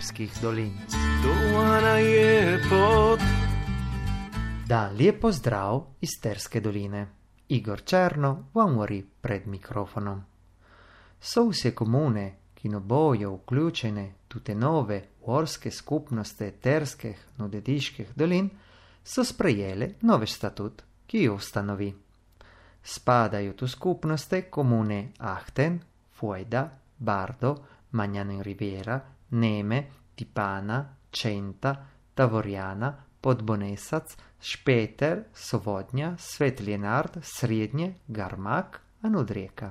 Sterskih dolin. Dolana je pot. Dan lijep pozdrav iz Sterske doline. Igor Černo vam govori pred mikrofonom. So vse komune, ki no bojo vključene tute nove gorske skupnosti Terskih nudediških dolin, so sprejeli novi statut, ki jo ustanovi. Spadajo tu skupnosti komune Ahten, Fueda, Bardo, Magnano in Riviera, Neme, Tipana, Centa, Tavorjana, Podbonesac, Špeter, Sovodnja, Sveti Lenard, Srednje, Garmak in Odrijeka.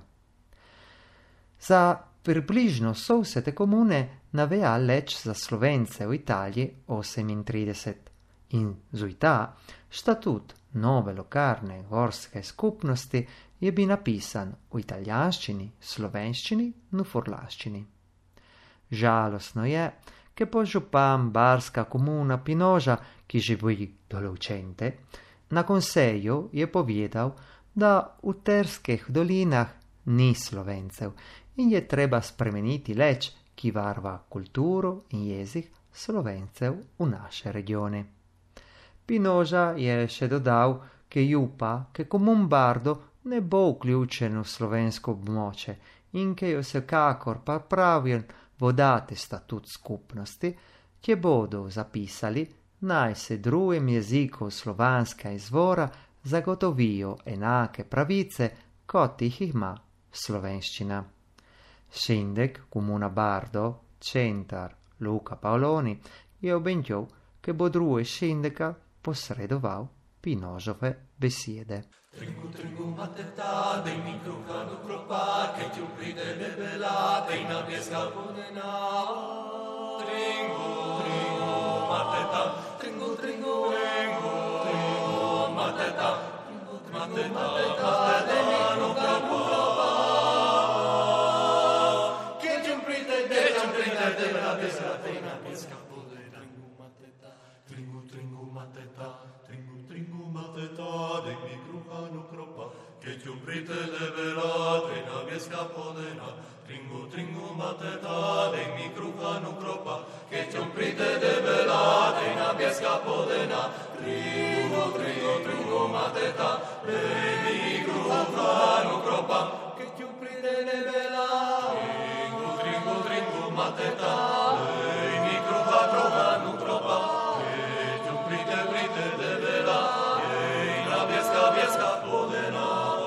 Za približno so vse te komune naveja leč za Slovence v Italiji 38 in zuita štatut nove lokalne gorske skupnosti je bil napisan v italijanščini, slovenščini in furlaščini. Žalostno je, che po župan barska komuna Pinoža, ki živi določente, na konseju je povedal, da v Terskih dolinah ni Slovencev in je treba spremeniti leč, ki varva kulturo in jezik Slovencev v naše regione. Pinoža je še dodal, che jupa, che komun Bardo ne bo vključen v slovensko območje in che jo vsekakor pa pravijo vodate statut skupnosti, ki bodo zapisali, naj se drugim jeziku slovanska izvora zagotovijo enake pravice, kot jih ima slovenščina. Šindek, komuna Bardo, Centar, Luca Paoloni je obenjal, che bo druge Šindeka posredoval Pinožove besede. Tringu, tringu, mateta, dej mi kruha do kropa, keď ju pride debela, dej na pieska podena. Tringu, tringu, mateta, tringu, tringu, tringu, tringu, mateta, tringu, tringu, mateta, dej mi kruha do kropa. Keď ju pride debela, dej na pieska podena. Tringu, tringu, mateta, tringu, tringu, mateta, dej mi kruha do kropa. Keď ju pride debela, dej na pieska podena. Tringu, tringu, mateta, dej mi kruha do kropa. Keď ju pride debela, dej na pieska podena. Tringu, tringu, tringu, mateta, dej mi kruha do kropa. Keď ju pride debela, tringu, tringu, tringu, mateta, dej mi kruha do kropa. Keď ju pride debela, dej na pieska podena.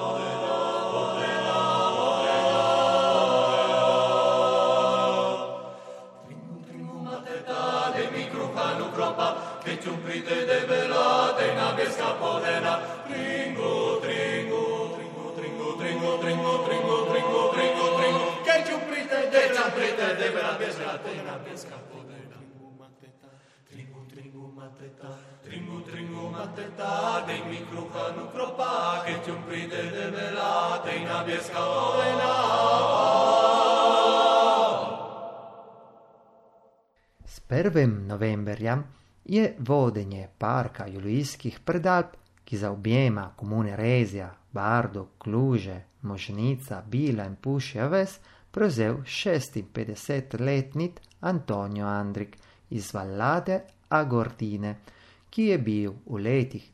Keď ju pride debela, dej na pieska podena. Tringu, tringu, tringu, tringu, tringu, tringu, tringu, tringu, tringu, tringu. Keď ju pride debela, dej na pieska podena. Tringu, tringu, mateta, tringu, tringu, mateta, dej mi kruha do kropa. Keď ju pride debela, dej na pieska podena. S 1. novemberjem je vodenje parka Julijskih predalp, ki zaobjema komune Rezija, Bardo, Kluže, Možnica, Bila in Pušja ves, prevzel 56-letni Antonio Andrik iz Vallade Agordine, ki je bil v letih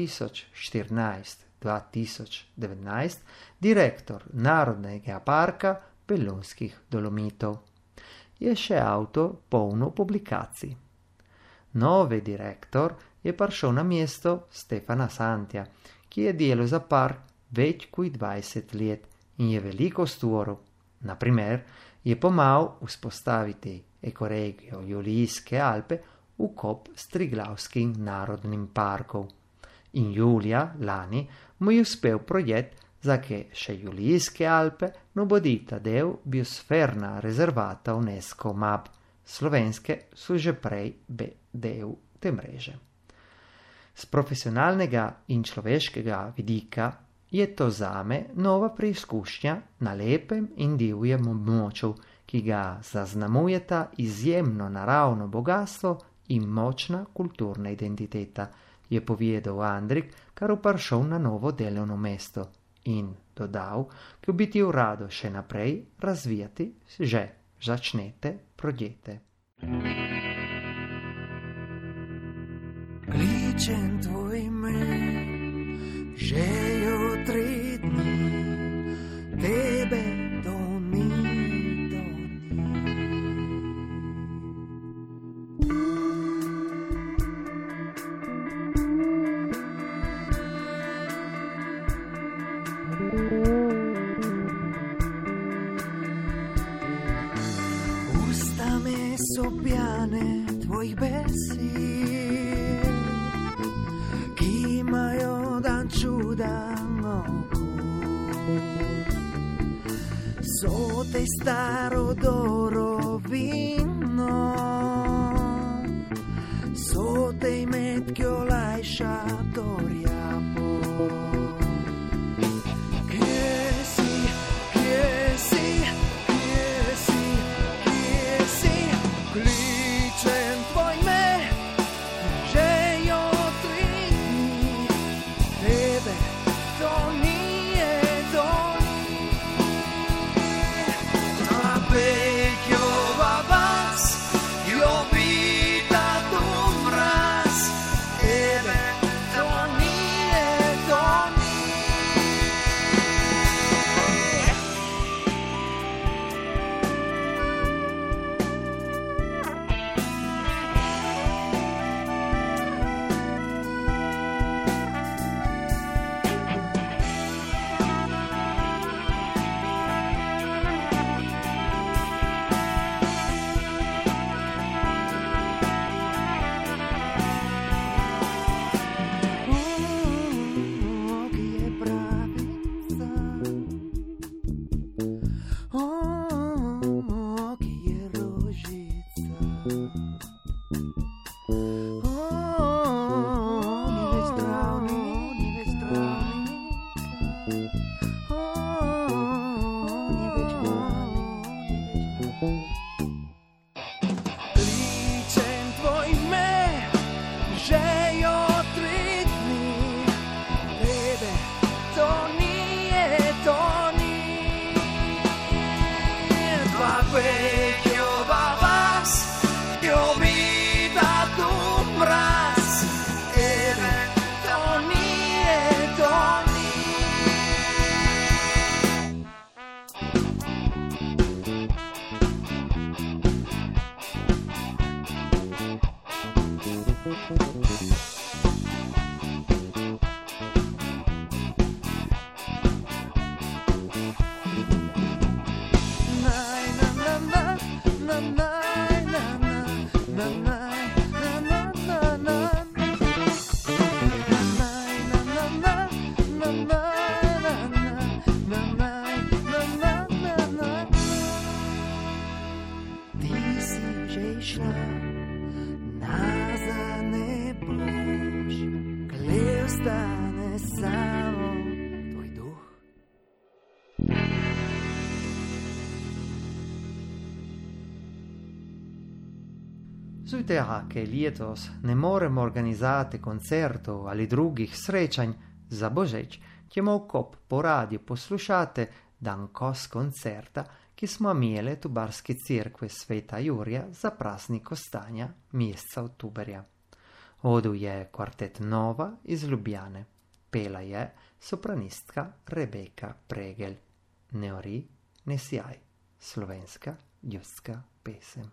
2014-2019 direktor Narodnega parka Belunskih Dolomitov. Je še avtor polno publikacij. Novi direktor je prišel na mesto Stefana Santja, ki je delal za park več kot 20 let in je veliko stvoril. Naprimer, je pomagal vzpostaviti ekoregijo Julijske Alpe v kop s Triglavskim narodnim parkom. In julija lani mu je uspel projekt, za che še Julijske Alpe no bodita del biosferna rezervata UNESCO MAB. Slovenske so že prej del te mreže. Z profesionalnega in človeškega vidika je to zame nova preizkušnja na lepem in divjem območju, ki ga zaznamujeta izjemno naravno bogatstvo in močna kulturna identiteta, je povedal Andrik, kar prišel na novo delovno mesto in dodal, ki bi ti rado še naprej razvijati že začnete projekte. Klíčem tvojme, že jo 3 dní tebe doní. Ústami sobiane tvojich besíd, kýmajú dan čuda oku. So tej starodorovino, so tej metkio lajša doriapo. Zujteha, ke lietos ne moremo organizati koncertov ali drugih srečanj za Božič, ćemo kop po radiju poslušati dan kos koncerta, ki smo imeli tu Barske crkve Sveta Jurija za praznik ostanja mjeseca oktoberja. Odu je kvartet Nova iz Ljubljane. Pela je sopranistka Rebeka Pregel. Ne ori, ne sjaj. Slovenska ljudska pesem.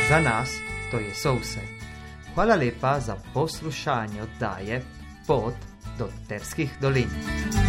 Za nas to je vse. Hvala lepa za poslušanje oddaje Pot do Terskih dolin.